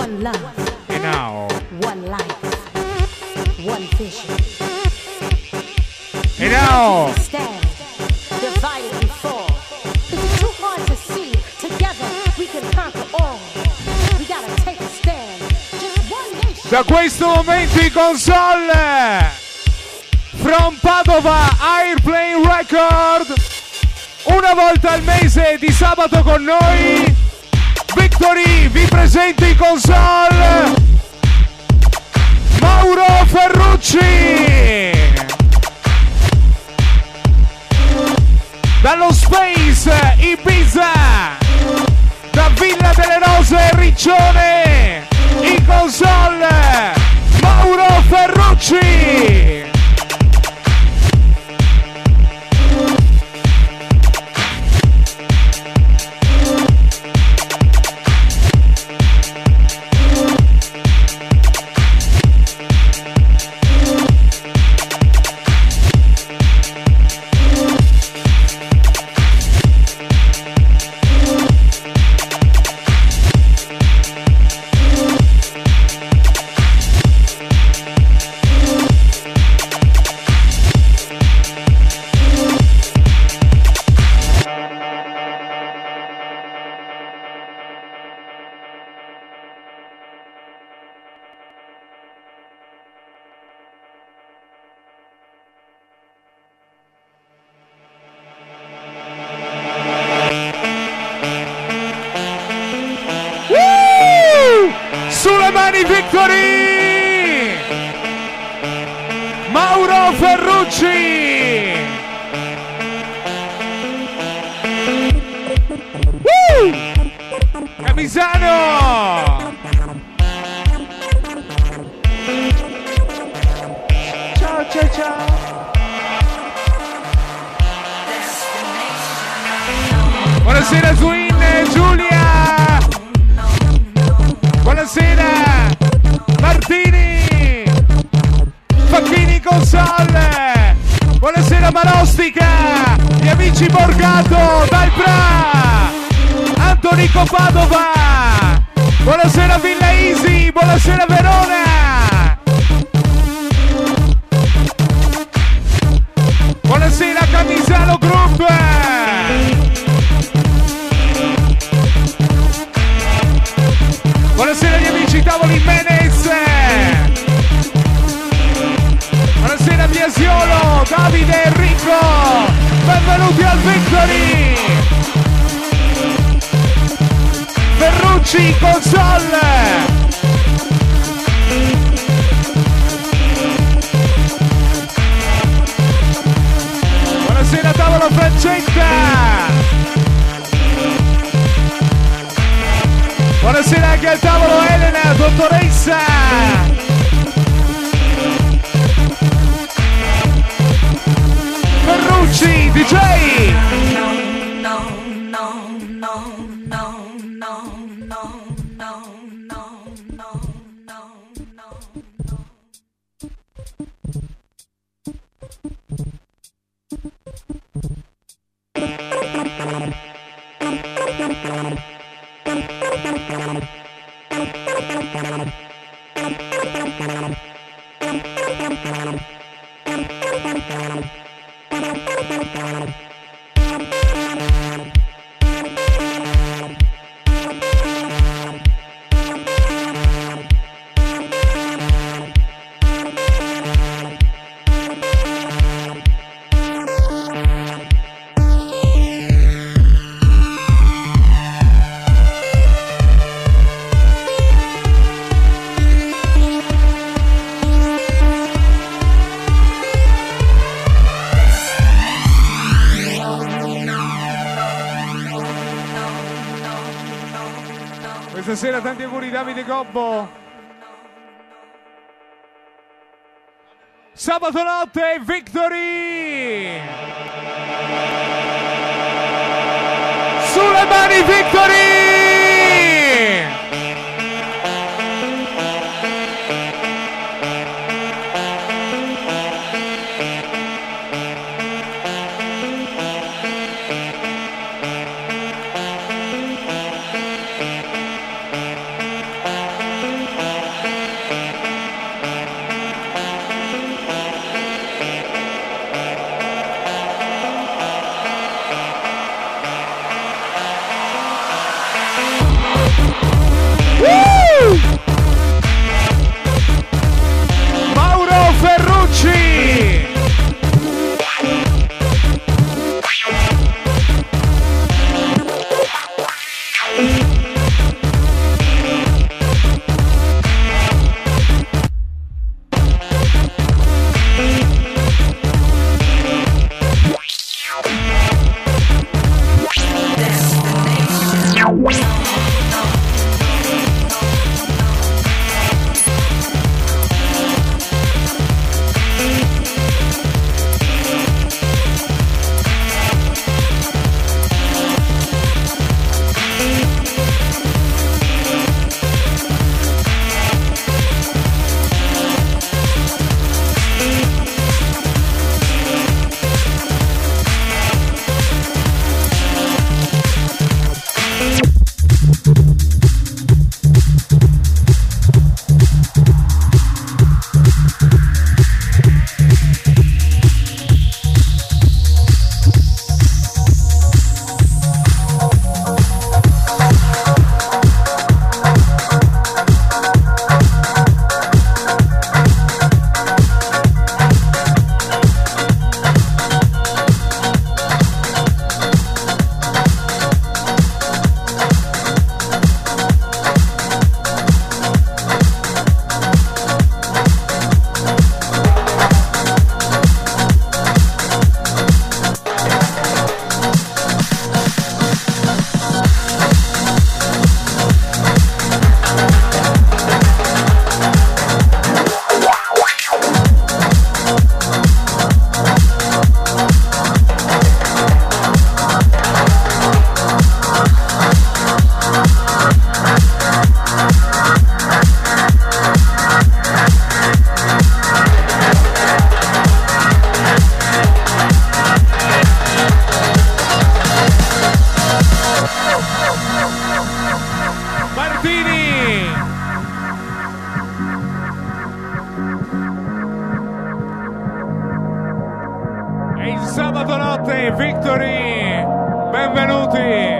One love. And now. One life. One vision. And now. Stand. Divided we fall. Is it too hard to see? Together we can conquer all. We gotta take a stand. Just one nation. Da questo momento in console. From Padova Airplane Record. Una volta al mese di sabato con noi. Victory vi presento in console Mauro Ferrucci. Dallo Space Ibiza, da Villa delle Rose Riccione, in console Mauro Ferrucci. Sulle mani Victory! Mauro Ferrucci! Camisano! Ciao ciao ciao! Buonasera Twin, Giulia! Buonasera Martini, Facchini console, buonasera Marostica, gli amici Borgato, dal Bra, Antonico Padova, buonasera Villa Easy, buonasera Verona, buonasera Camisano Group. Buonasera agli amici Tavoli Menez. Buonasera Biasiolo, Davide e Enrico. Benvenuti al Victory. Ferrucci console. Buonasera Tavolo Francetta. Buonasera anche al tavolo Elena, dottoressa! Ferrucci, DJ! Stasera tanti auguri Davide Gobbo. Sabato notte Victory. Sulle mani Victory. Victory, benvenuti.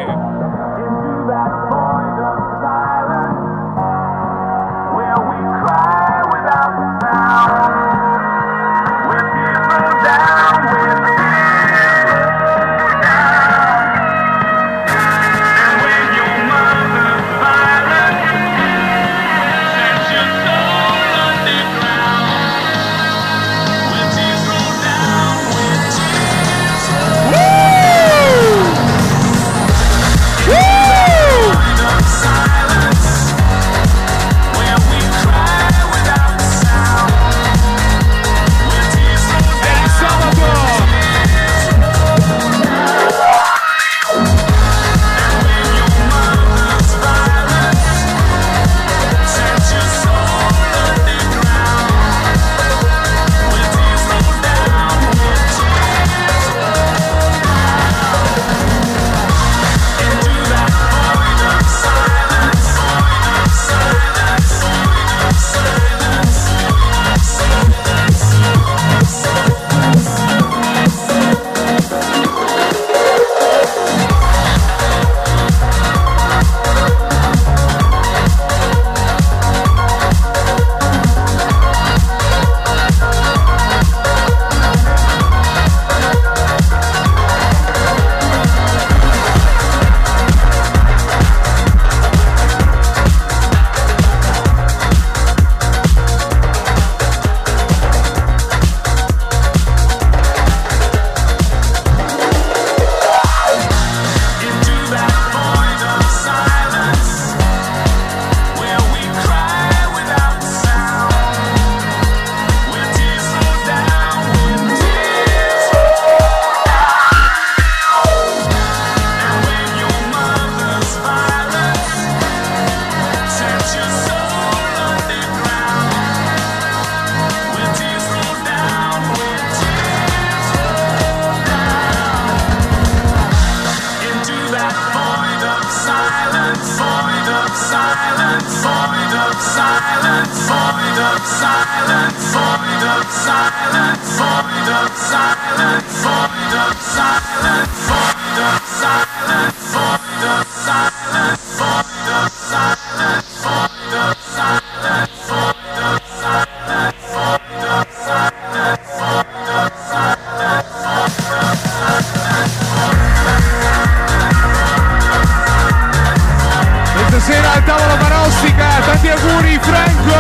Stasera al tavolo Manostica, tanti auguri Franco!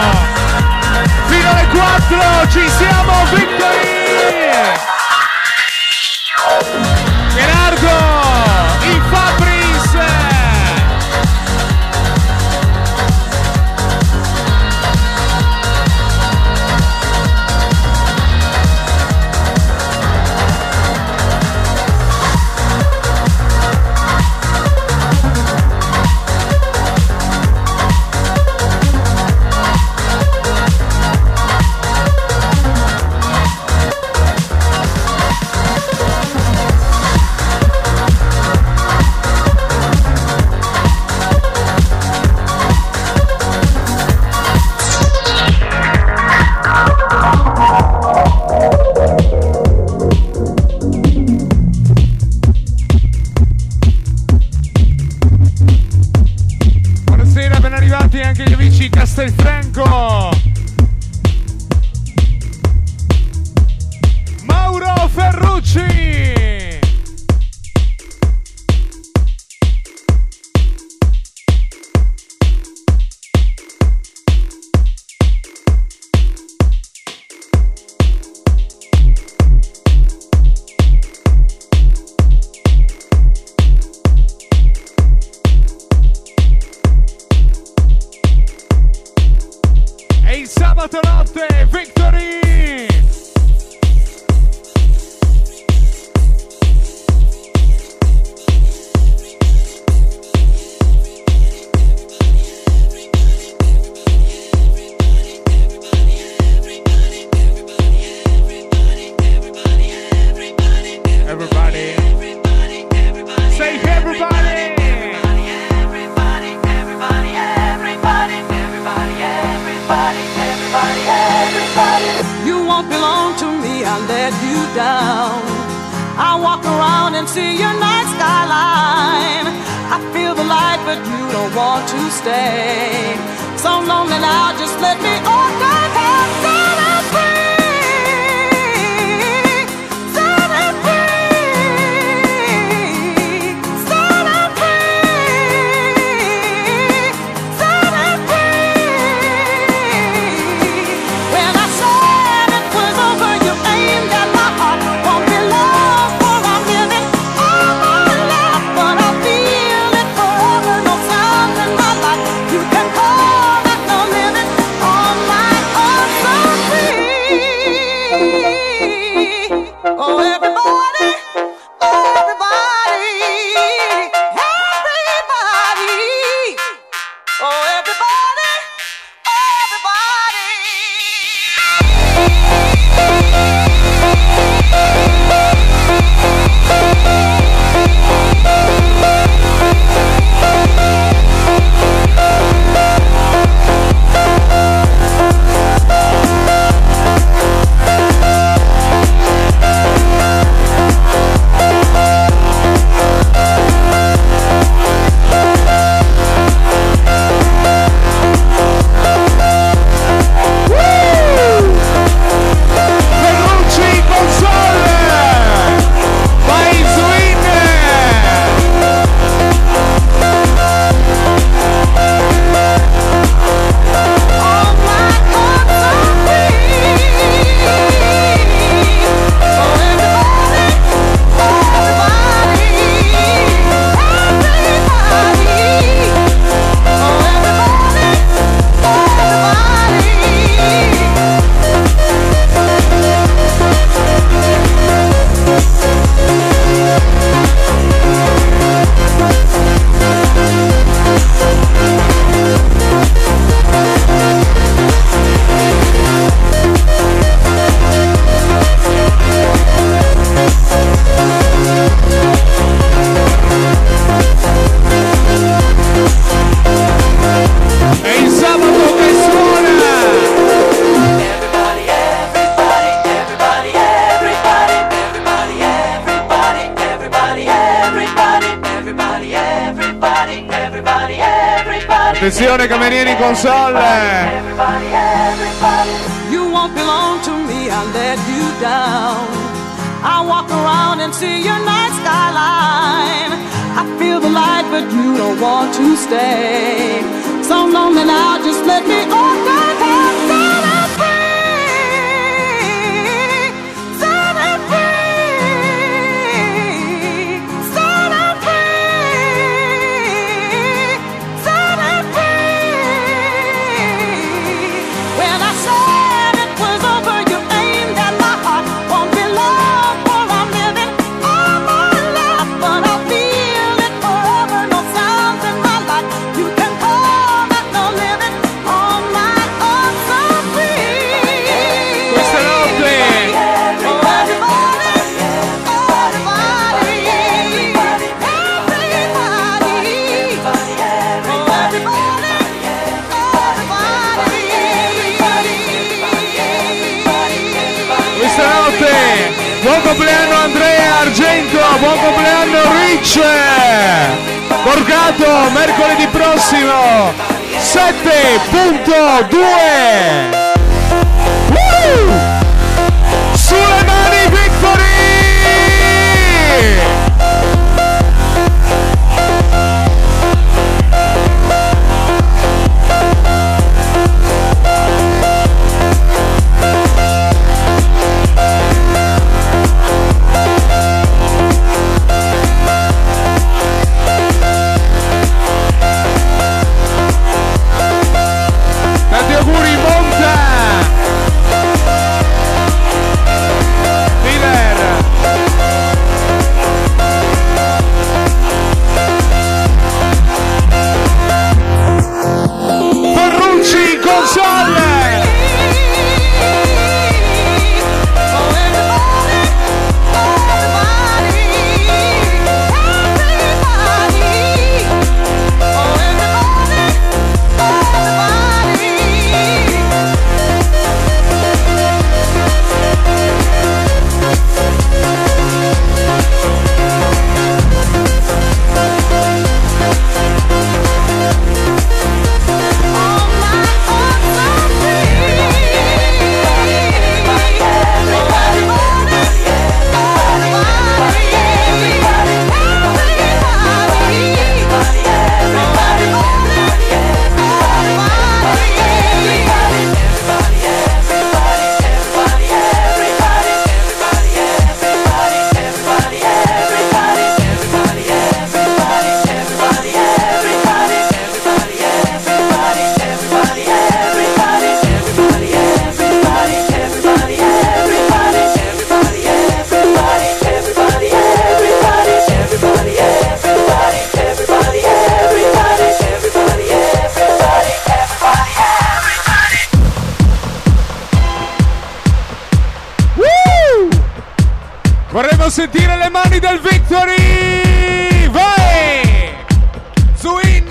Fino alle 4 ci siamo, Victory! Gerardo, il Fabris! Anche gli amici Castelfranco, Mauro Ferrucci, sabato notte, Victory! Everybody, say everybody! You won't belong to me, I'll let you down. I walk around and see your night skyline. I feel the light, but you don't want to stay. So lonely now, just let me all go. Set it free, set it free, set it free, set it free. When I said it was over, you aimed at my heart. Won't be long for I'm living all my life, but I feel it forever. No sound in my life. You can call that no living on my own, so free. Oh, everybody, everybody, everybody. Oh, everybody, everybody. Ferrucci console, vai Swin. On my own, so free. Oh, everybody, everybody, everybody. Oh, everybody, È il sabato che suona. Attenzione camerieri in console. you won't belong to me, I let you down. I walk around and see your night skyline. I feel the light, but you don't want to stay. So lonely now, just let me all go. Set it free, set it free, set it free, set it free. When I said it was over, you aimed at my heart. Won't be long for I'm living all my life, but I feel it forever. No sounds in my life. You can call that no living on my own, so free. Questa notte Oh, everybody, everybody, everybody. Oh, everybody, everybody. Questa notte, buon compleanno Andrea Argento, buon compleanno Rich Borgato, mercoledì prossimo 7.2. Sulle mani Victory! Tanti auguri Monta! Miller! Ferrucci console! Oh, everybody, everybody, oh, everybody, everybody. Vogliamo sentire le mani del Victory! Vai! Zuin!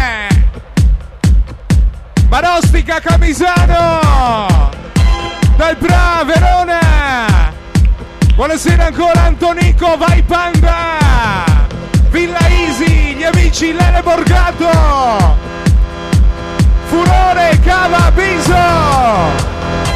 Marostica Camisano! Dal Bra, Verona! Buonasera ancora Antonico, vai Panda! Villa Easy, gli amici Lele Borgato! Furore, Cava, Biso!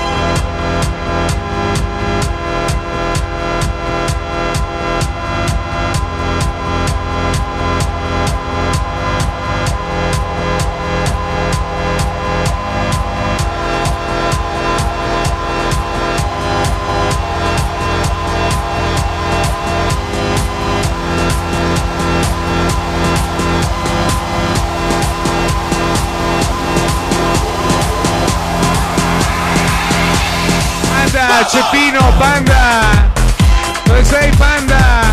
Ceppino, Panda! Dove sei, Panda?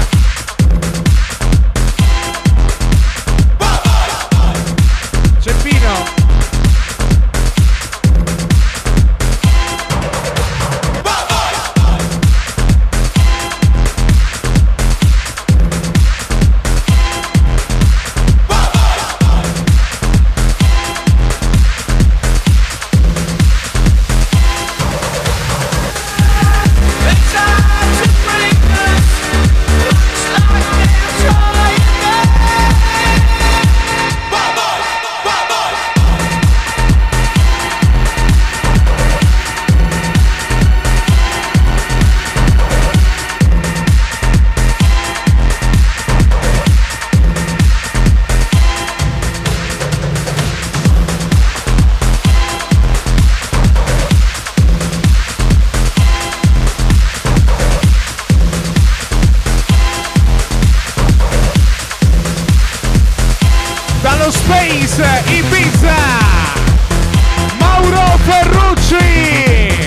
Ceppino! Ibiza, Mauro Ferrucci.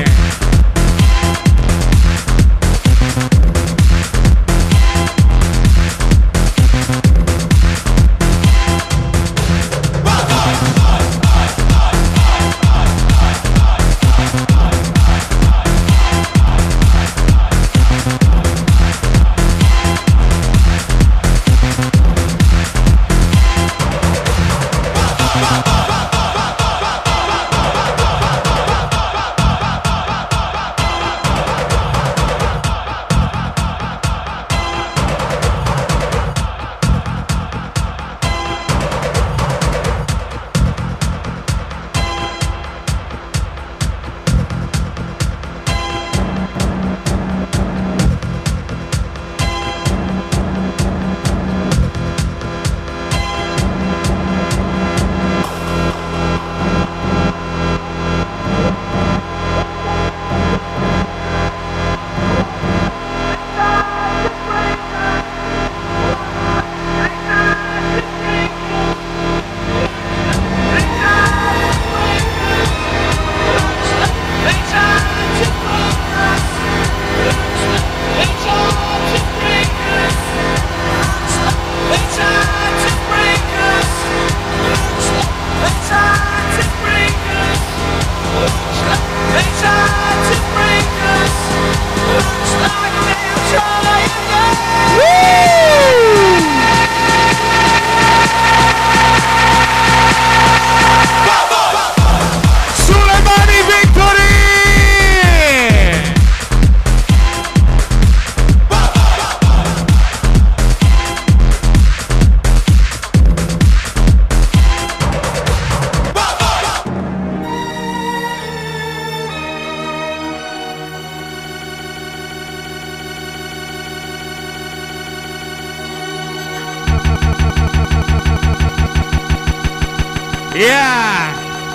Yeah!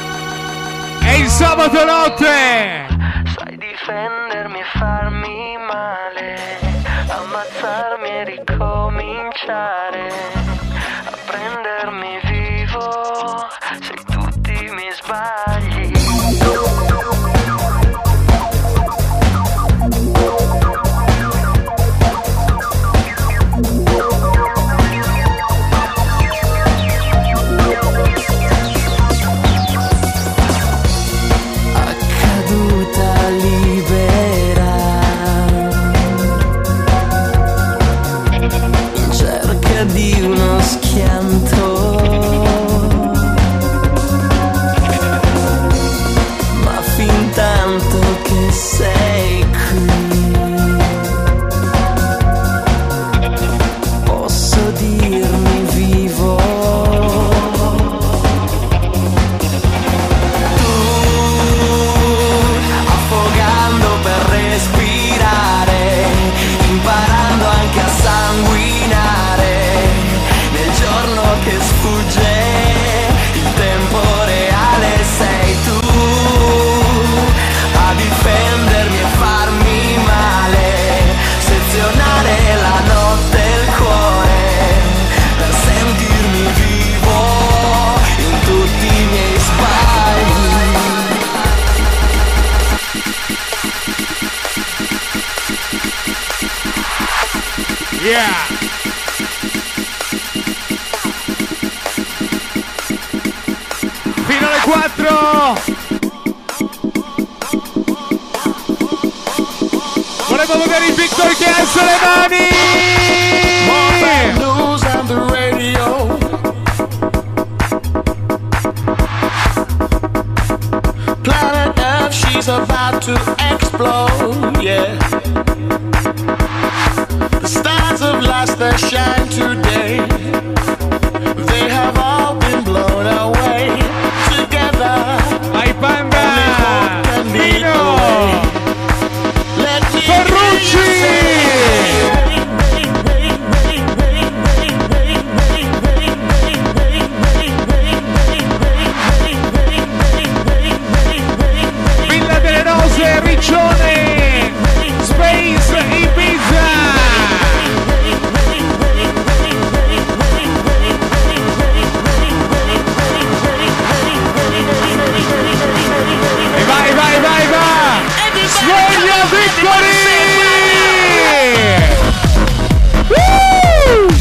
È il sabato notte! Sai difendermi e farmi male, ammazzarmi e ricominciare, a prendermi vivo se tutti mi sbagli. Yeah. Fino alle 4. Volevo vedere il Victor che alza le mani. More bad news on the radio. Planet Earth, she's about to explode, yeah. The stars of lights that shine today, they have all been blown away. Together, Vai Panda. only hope can lead the Pino. way. Let me Ferrucci. Villa delle Rose, Riccione, Space, Ibiza. E vai, vai, vai, vai. Sveglia Victory! Woo!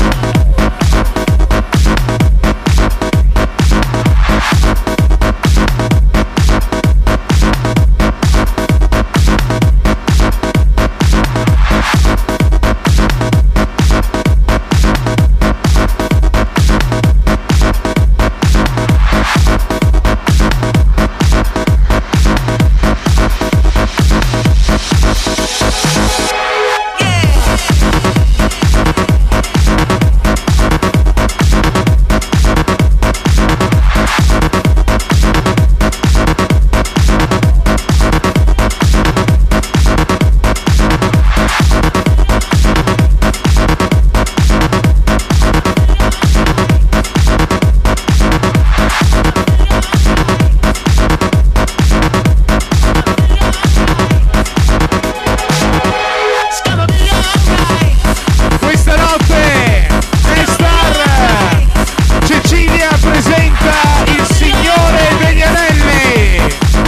Questa notte Star Cecilia presenta il Signore degli Anelli.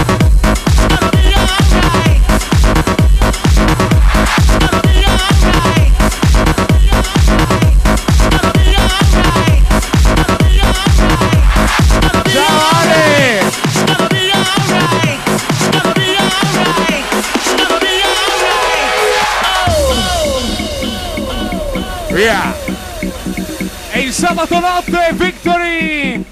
Ciao Ale! Via! E il sabato notte Victory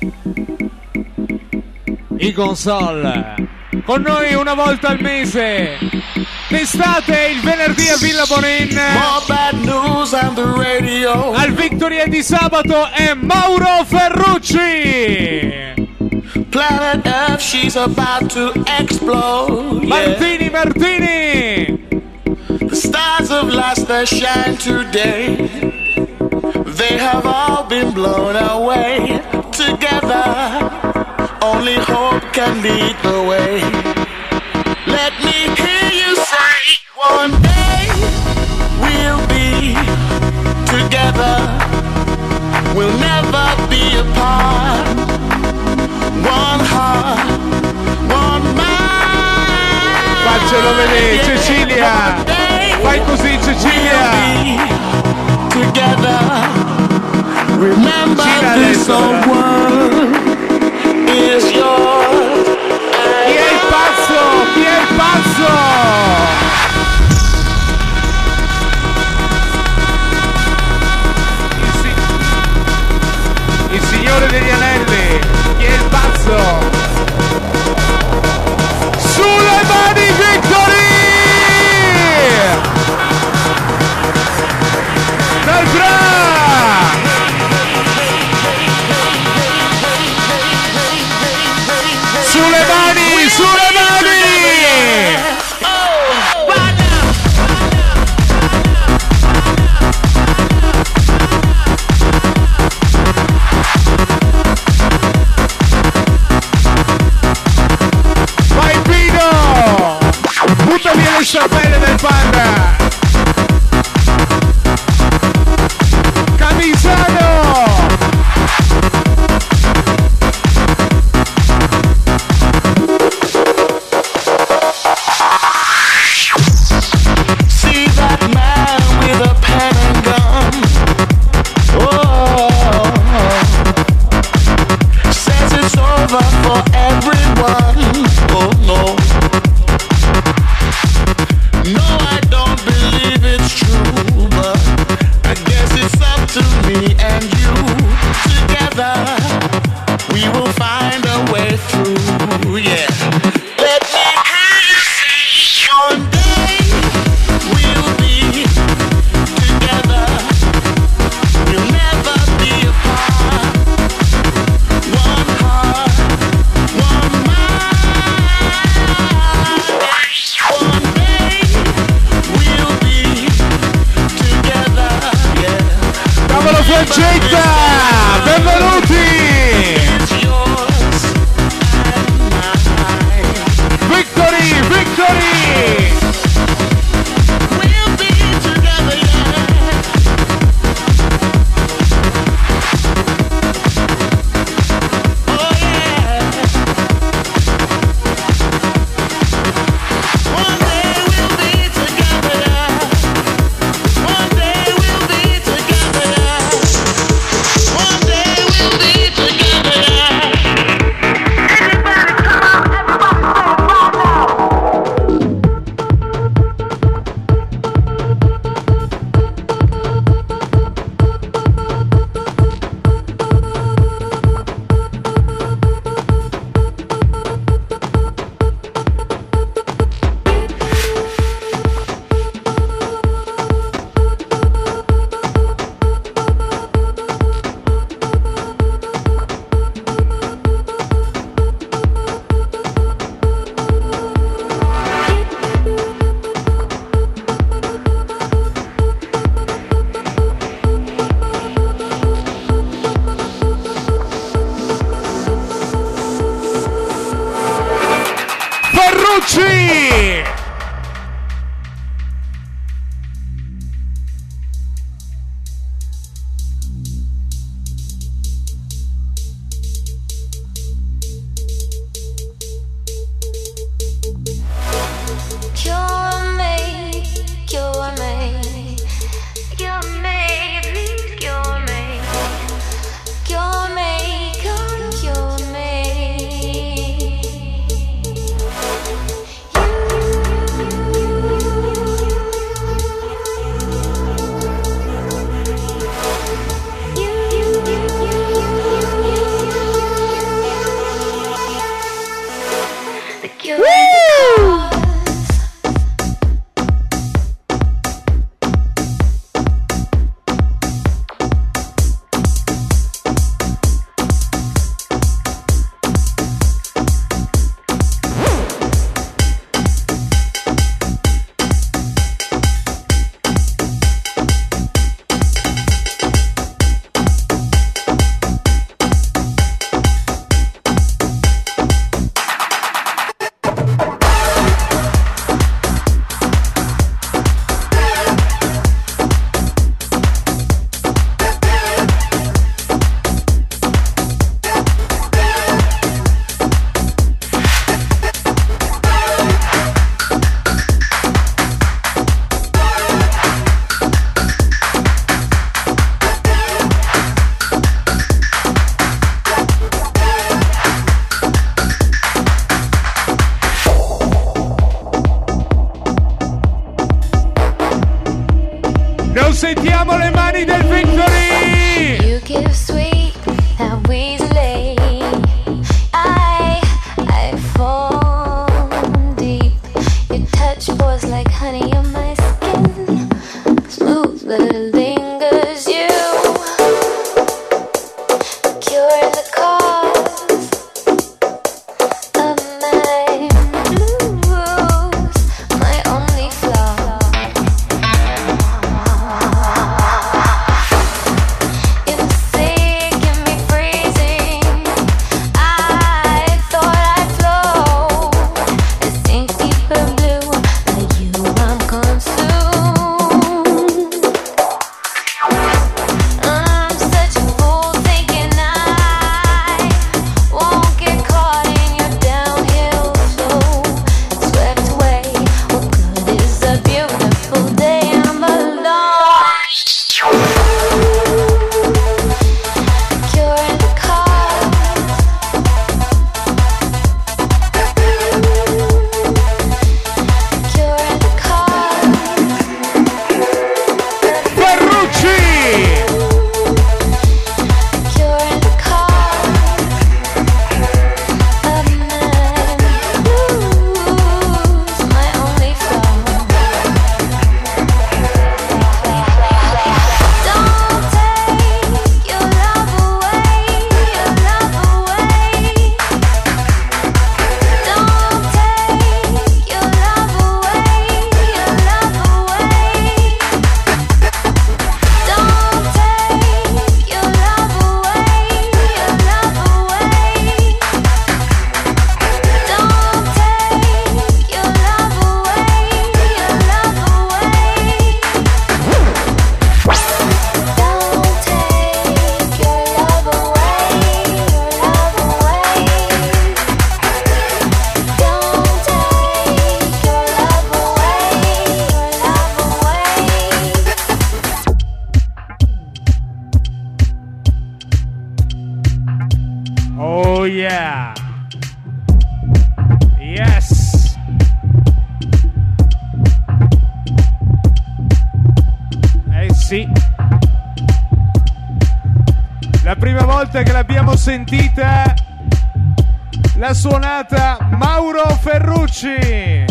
in console con noi una volta al mese, d'estate il venerdì a Villa Bonin. More bad news on the radio. Al Victory e di sabato è Mauro Ferrucci. Planet Earth, she's about to explode. Yeah. Martini Martini. The stars of lights that shine today, they have all been blown away. Together, only hope can lead the way. Let me hear you say, one day we'll be together. We'll never be apart. One heart, one mind. Faccelo vedere, Cecilia. Fai così, Cecilia. Together, remember this old world is yours. Chi è il pazzo? Chi è il pazzo? Il Signore degli Anelli. Chi è il pazzo? Sulle mani Victory! Dal Bra! Sulle mani, sulle mani! Vai Pino! Butta via le sciarpelle del Panda! Camisano! See that man with a pen and gun. Getta, benvenuti! Victory, victory! We'll be together, yeah. Oh yeah. One day we'll be together, yeah. One day we'll be together, yeah. One day we'll be together, yeah. Everybody come on, everybody say it right now. Ferrucci! Cure me, cure me, cure me, please cure me, cure me, come cure me. The cure is the cause. Non sentiamo le mani del Victory! You give sweet and easily. I fall deep. Your touch pours like honey on my skin. Smooth but it lingers. You cure the cause of my blues, my only flaw. You say volte che l'abbiamo sentita, l'ha suonata Mauro Ferrucci.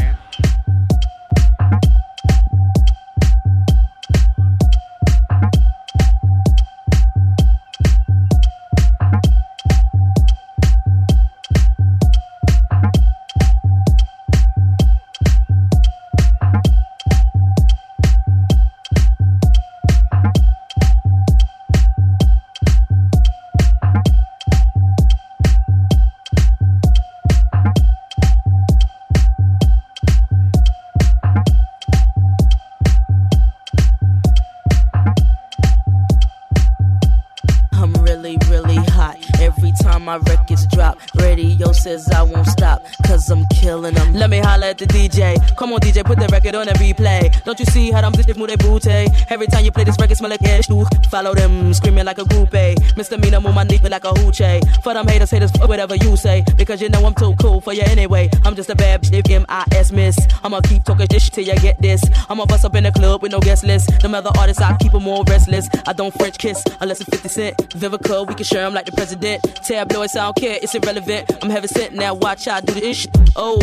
My records drop, radio says I won't stop, cause I'm killing them. Let me holler at the DJ. Come on DJ, put the record on and replay. Don't you see how them bitches move their booty? Every time you play this record smell like ash. Follow them, screaming like a groupie. Misdemeanor, move my knee like a hoochie. For them haters, whatever you say, because you know I'm too cool for you anyway. I'm just a bad bitch, M.I.S. miss. I'ma keep talking this shit till you get this. I'ma bust up in the club with no guest list. Them other artists, I keep them more restless. I don't French kiss unless it's 50 Cent. Vivica, we can share them like the president. Tabloids, I don't care, it's irrelevant. I'm heaven sent, now watch I do this shit. Oh.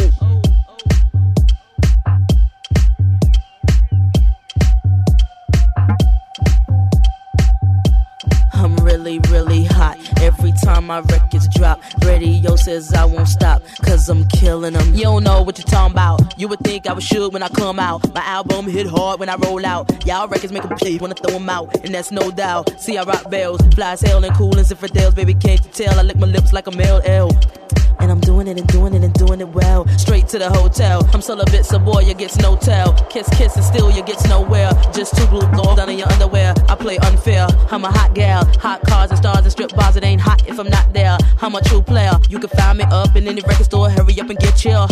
I'm really, really hot. Every time my records drop, radio says I won't stop, cause I'm killing them. You don't know what you're talking about. You would think I was shook when I come out. My album hit hard when I roll out. Y'all records make them play when I throw them out, and that's no doubt. See, I rock bells, fly as hell and cool as infidels. Baby, can't you tell? I lick my lips like a male L. And I'm doing it and doing it and doing it well. Straight to the hotel. I'm celibate, so boy, you gets no tell. Kiss, kiss, and still you gets nowhere. Just two blue balls down in your underwear. I play unfair. I'm a hot gal. Hot cars and stars and strip bars. It ain't hot if I'm not there. I'm a true player. You can find me up in any record store. Hurry up and get chill.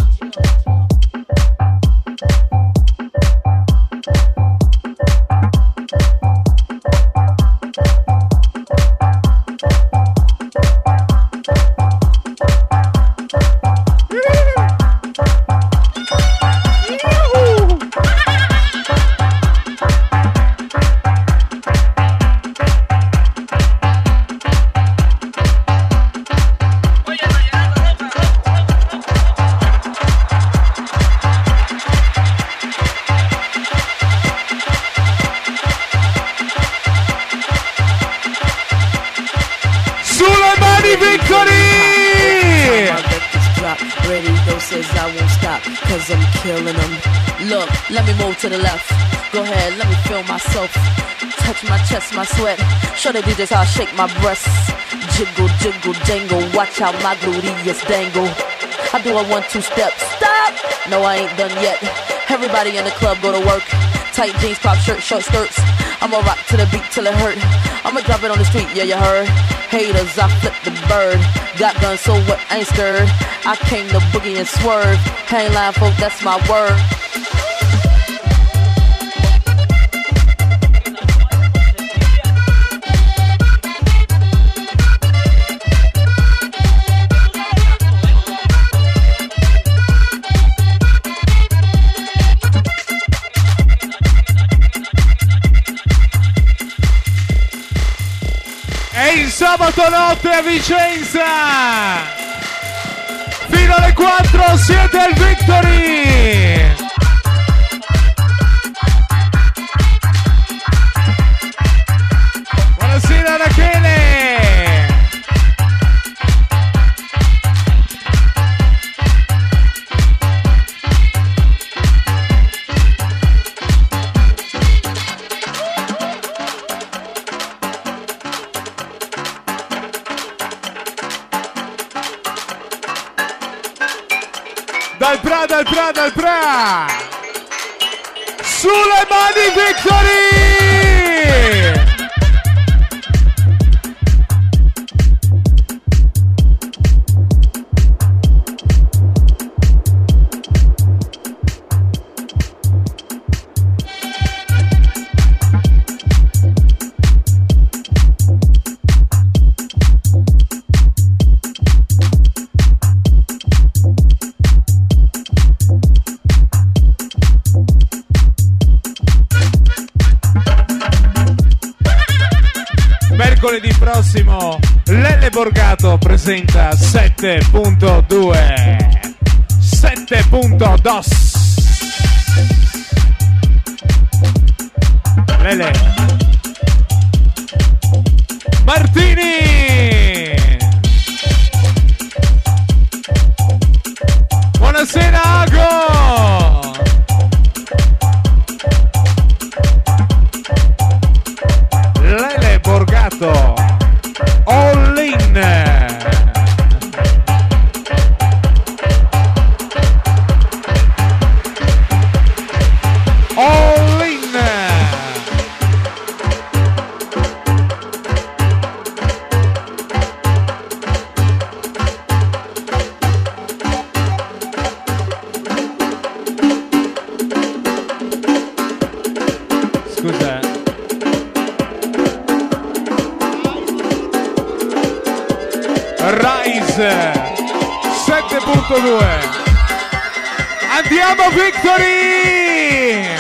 Cause I'm killing them. Look, let me move to the left. Go ahead, let me feel myself. Touch my chest, my sweat. Show the DJs how I shake my breasts. Jiggle, jiggle, jangle. Watch how my gluteus dangle. I do a 1-2 step. Stop! No, I ain't done yet. Everybody in the club go to work. Tight jeans, crop shirt, short skirts. I'ma rock to the beat till it hurt. I'ma drop it on the street, yeah, you heard. Haters, I flip the bird. Got guns, so what, ain't scared. I came to boogie and swerve. Ain't lying, folk, that's my word. Il sabato notte a Vicenza fino alle 4 siete al Victory. Buonasera Rachele. Dal Pra sulle mani Victory. Mercoledì prossimo Lele Borgato presenta 7.2 7.2 Lele Martini. Buonasera Ago. Lele Borgato All In. All In. Scusa. Rise 7.2. Andiamo Victory!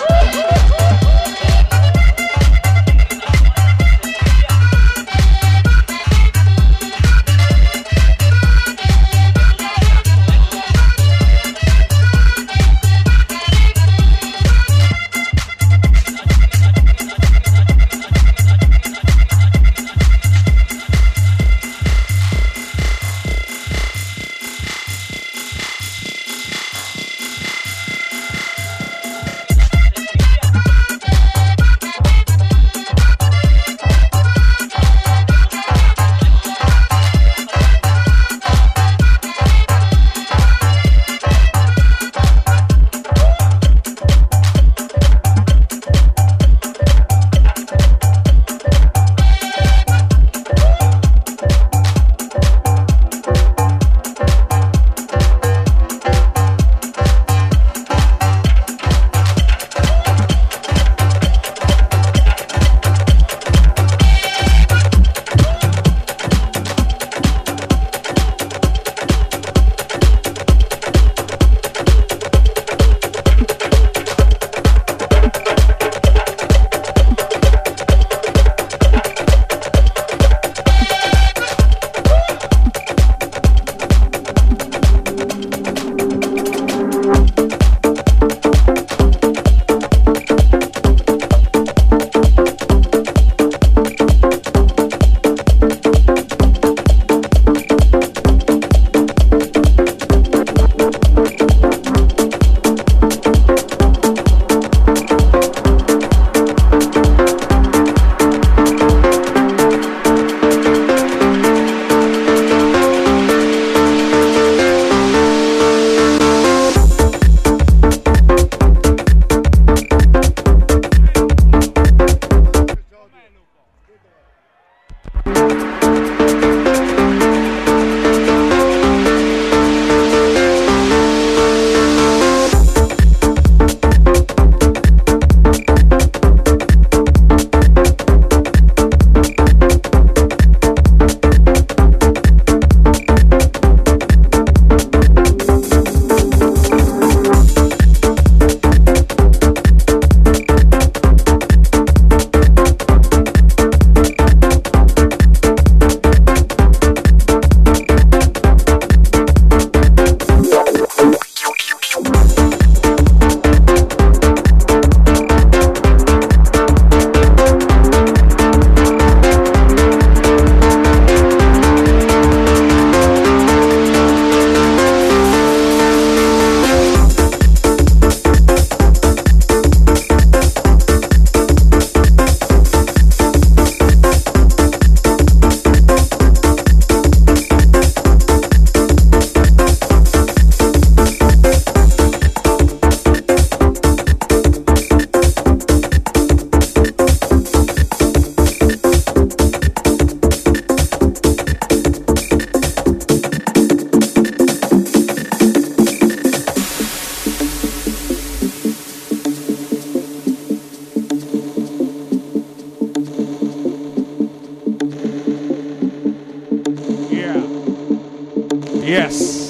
Yes.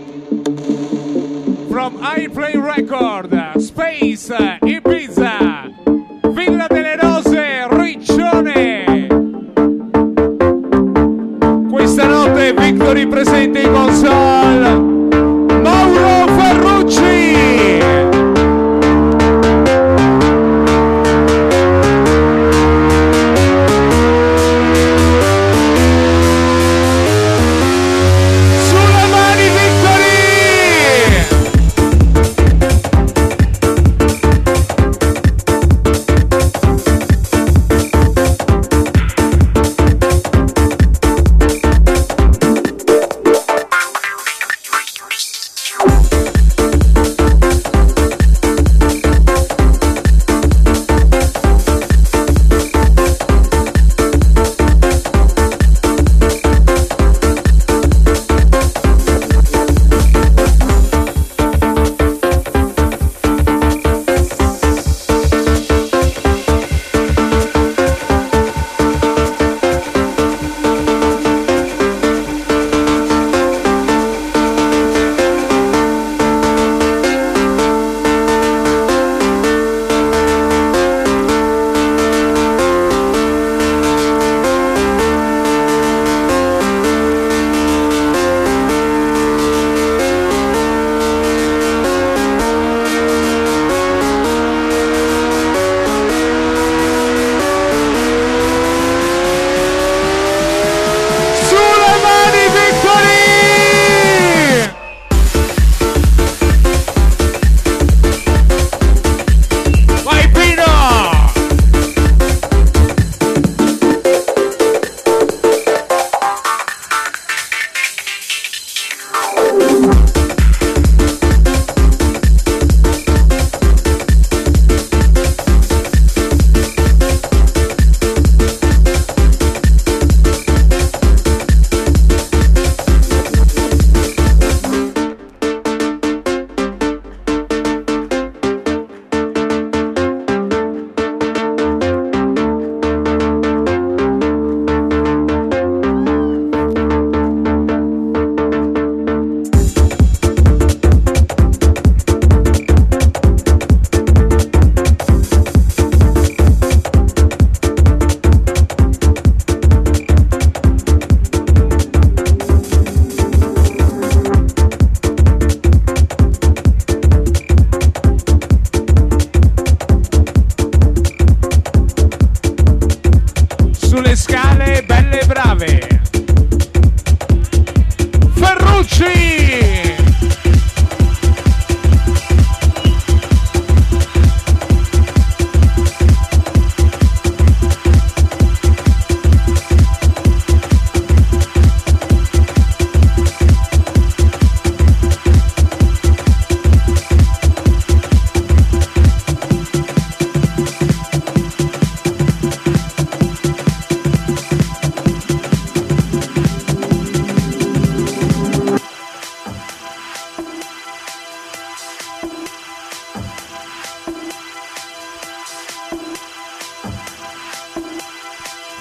From Airplane Record, Space, Ibiza, Villa delle Rose, Riccione.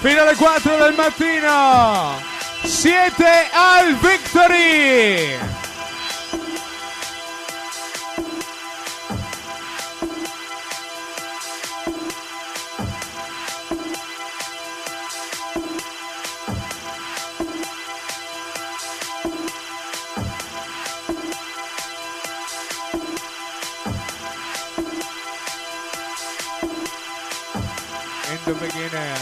fino alle 4 del mattino. Siete al Victory. In the beginning.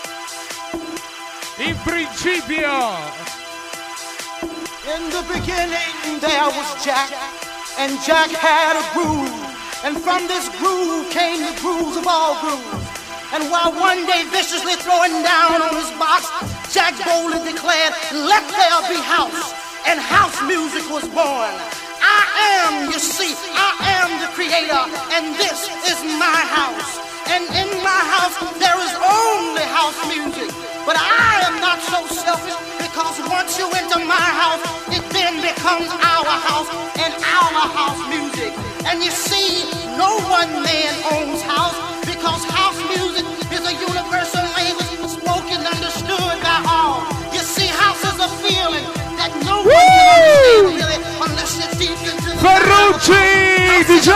In principio. In the beginning there was Jack, and Jack had a groove, and from this groove came the grooves of all grooves. And while one day viciously throwing down on his box, Jack boldly declared, "Let there be house," and house music was born. I am, you see, I am the creator, and this is my house. And in my house there is only house music. But I am not so selfish, because once you enter my house, it then becomes our house and our house music. And you see, no one man owns house, because house music is a universal language spoken, understood by all. You see, house is a feeling that no one can understand really unless you're deep into the Ferrucci, DJ!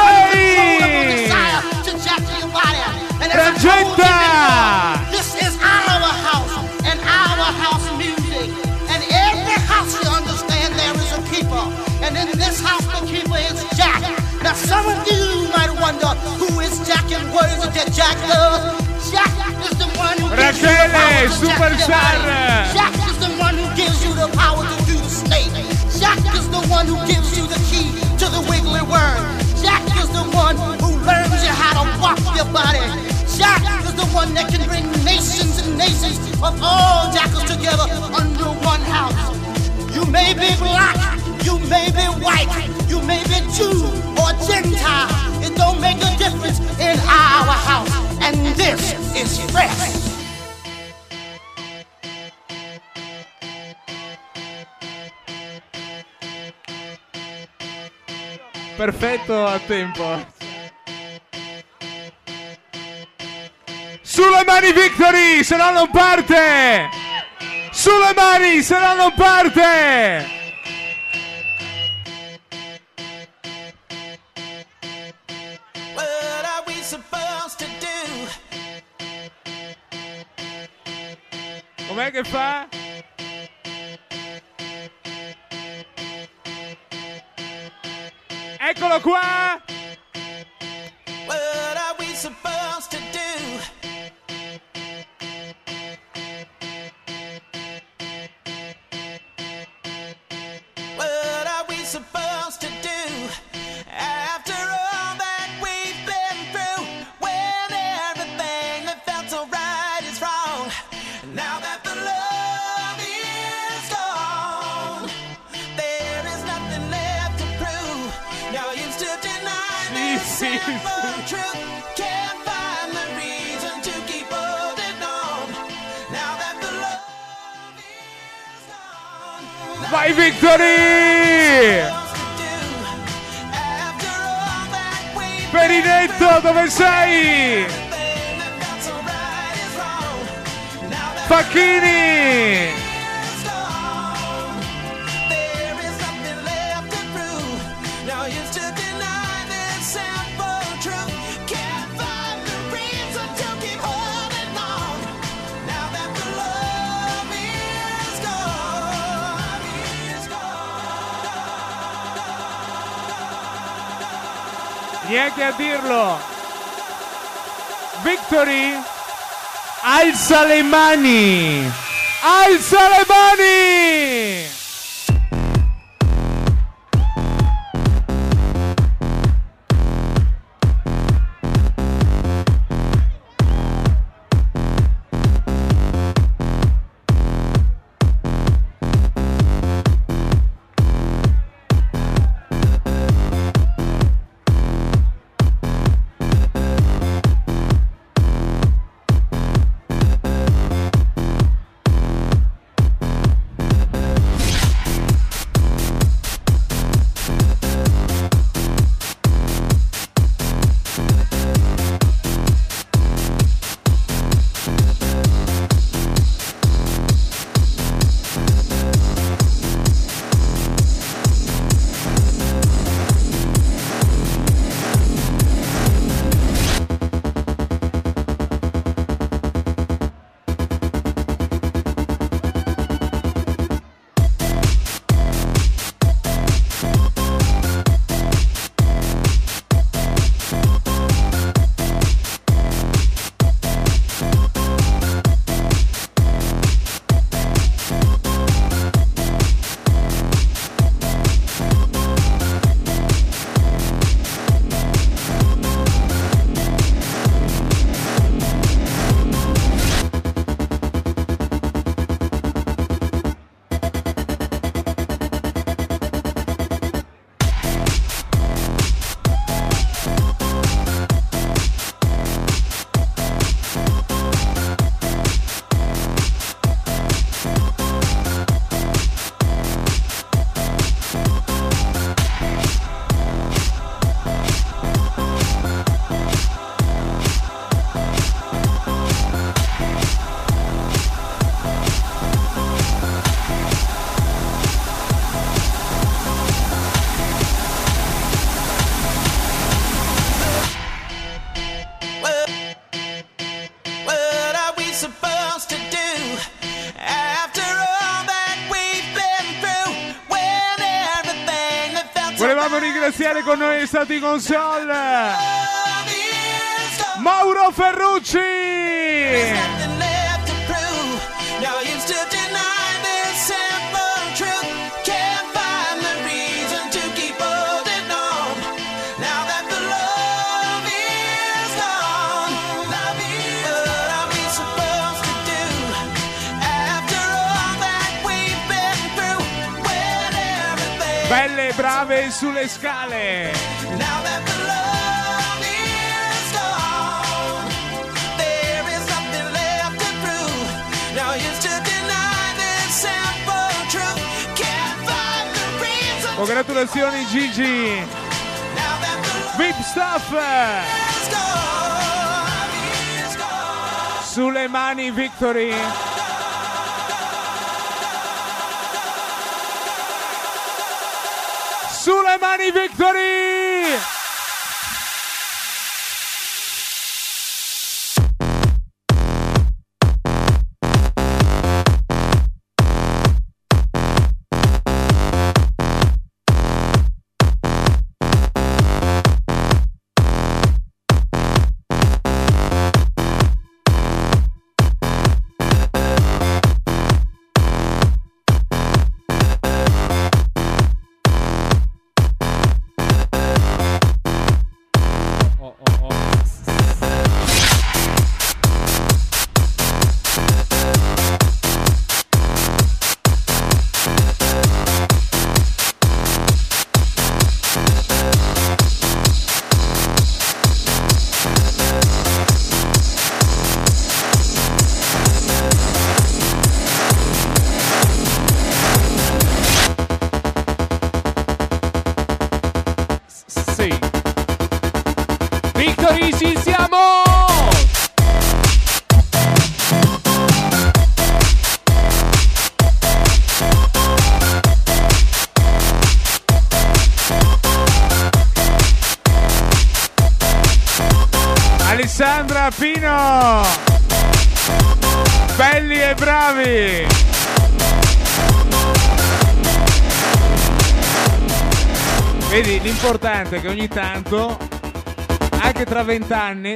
to jack your body. And Frangetta! This is our house and our house music. And every house, you understand, there is a keeper. And in this house, the keeper is Jack. Now, some of you might wonder, who is Jack and what is it that Jack does? Jack is the one who gives you the power to Superstar. Jack is the one who gives you the power to do the snake. Jack is the one who gives you the key to the wiggly worm. Jack is the one who learns you how to walk your body. Jack is the one that can bring nations and nations of all jackals together under one house. You may be black, you may be white, you may be Jew or Gentile. It don't make a difference in our house. And this is fresh. Perfetto a tempo. Sulle mani Victory, se no non parte! Sulle mani, se no non parte! What are we supposed to do? Com'è che fa? Eccolo qua! What are we supposed to do? What are we supposed to do? After all that we've been through, when everything that felt so right is wrong, now that the love is gone, there is nothing left to prove. Now you still deny this simple truth. Can't find the reason to keep holding on. Now that the love is gone. Vai Victory! Perinetto, dove sei? Facchini! Neanche a dirlo. Victory, alza le mani! Alza le mani! iniziare con noi stati console Mauro Ferrucci. Belle e brave sulle scale. Congratulazioni Gigi. Vip Stuff. Sulle mani Victory. Sulle mani Victory! Victory, ci siamo! Alessandra, Pino! Belli e bravi! Vedi, l'importante è che ogni tanto, anche tra 20 anni,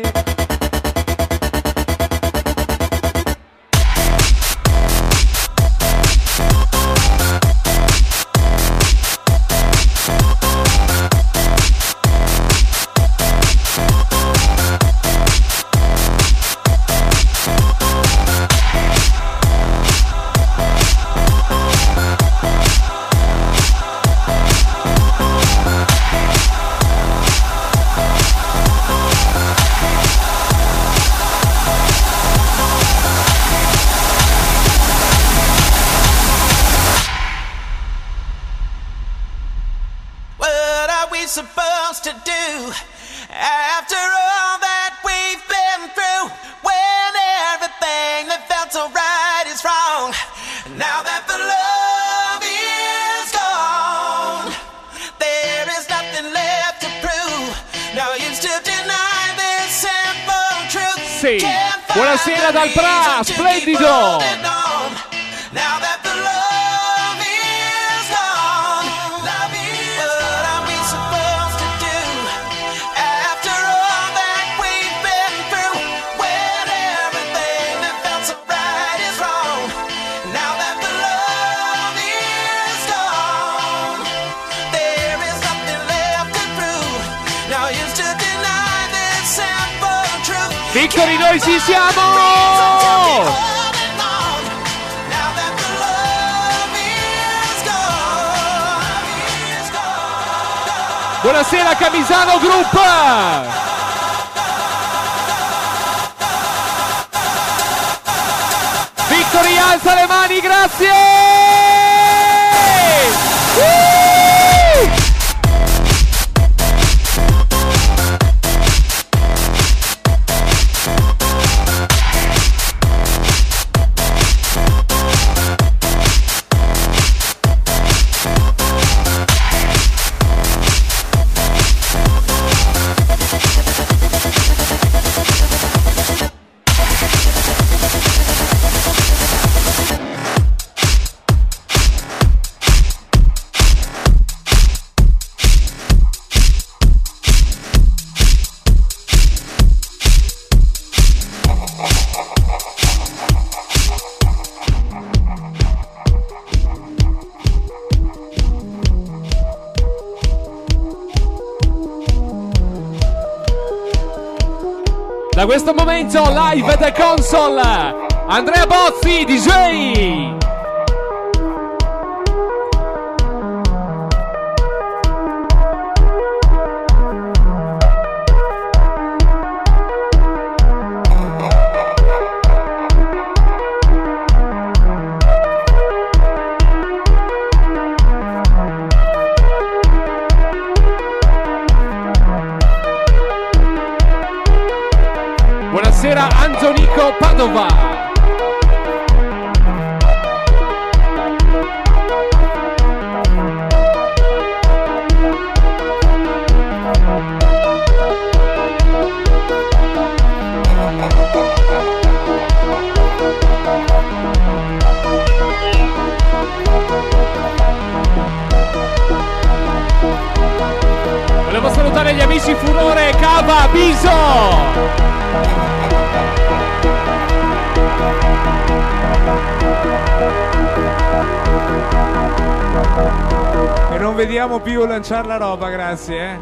supposed to do after all that we've been through, when everything that felt so right is wrong? Now that the love is gone, there is nothing left to prove. No use to deny this simple truth. Sì, buonasera dal Pra, splendido. Now that the love is gone, love is what are we supposed to do after all that we've been through, when everything that felt so right is wrong? Now that the love is gone, there is nothing left to prove. No use to deny this simple truth. Victory, noi ci siamo! Buonasera Camisano Group! Victory, alza le mani, grazie! Da questo momento live The Console, Andrea Bozzi, DJ. Buonasera Antonico Padova. Volevo salutare gli amici Furore, Cava, Biso. E non vediamo più lanciare la roba, grazie.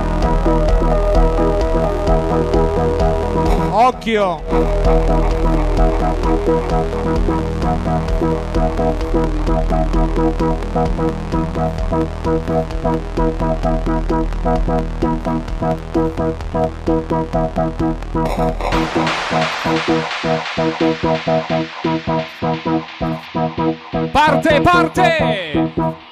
Occhio. Parte, parte!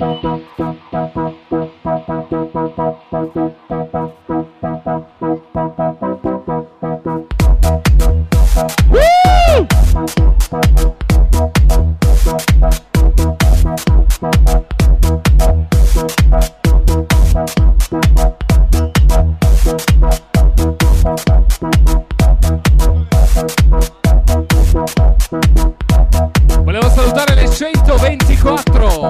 Volevo salutare le 124.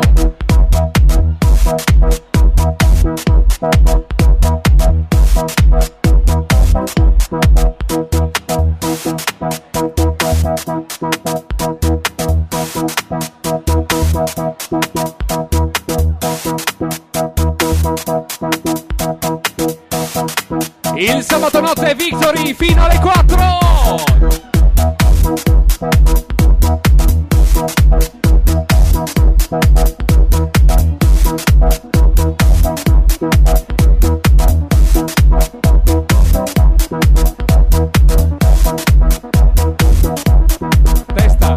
Il sabato notte Victory fino alle 4. Testa.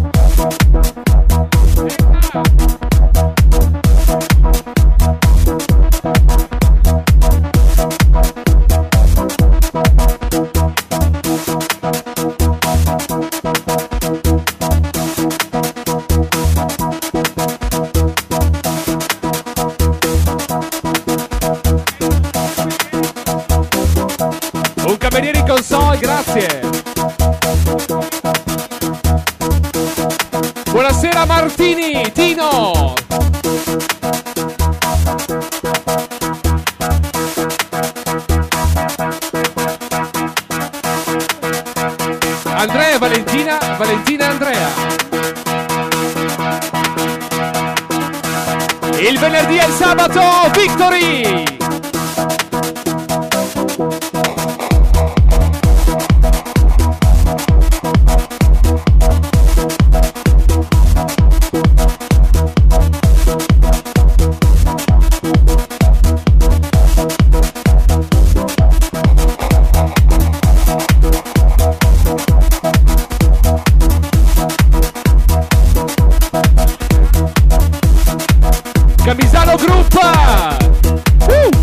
Un cameriere in console, grazie. Buonasera Martini, Tino. Andrea, Valentina, Valentina e Andrea. Il venerdì e il sabato, Victory! Camisano Group!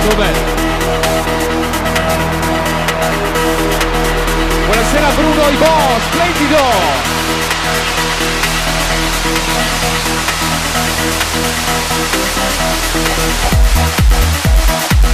molto bene. Buonasera Bruno Ibo, splendido!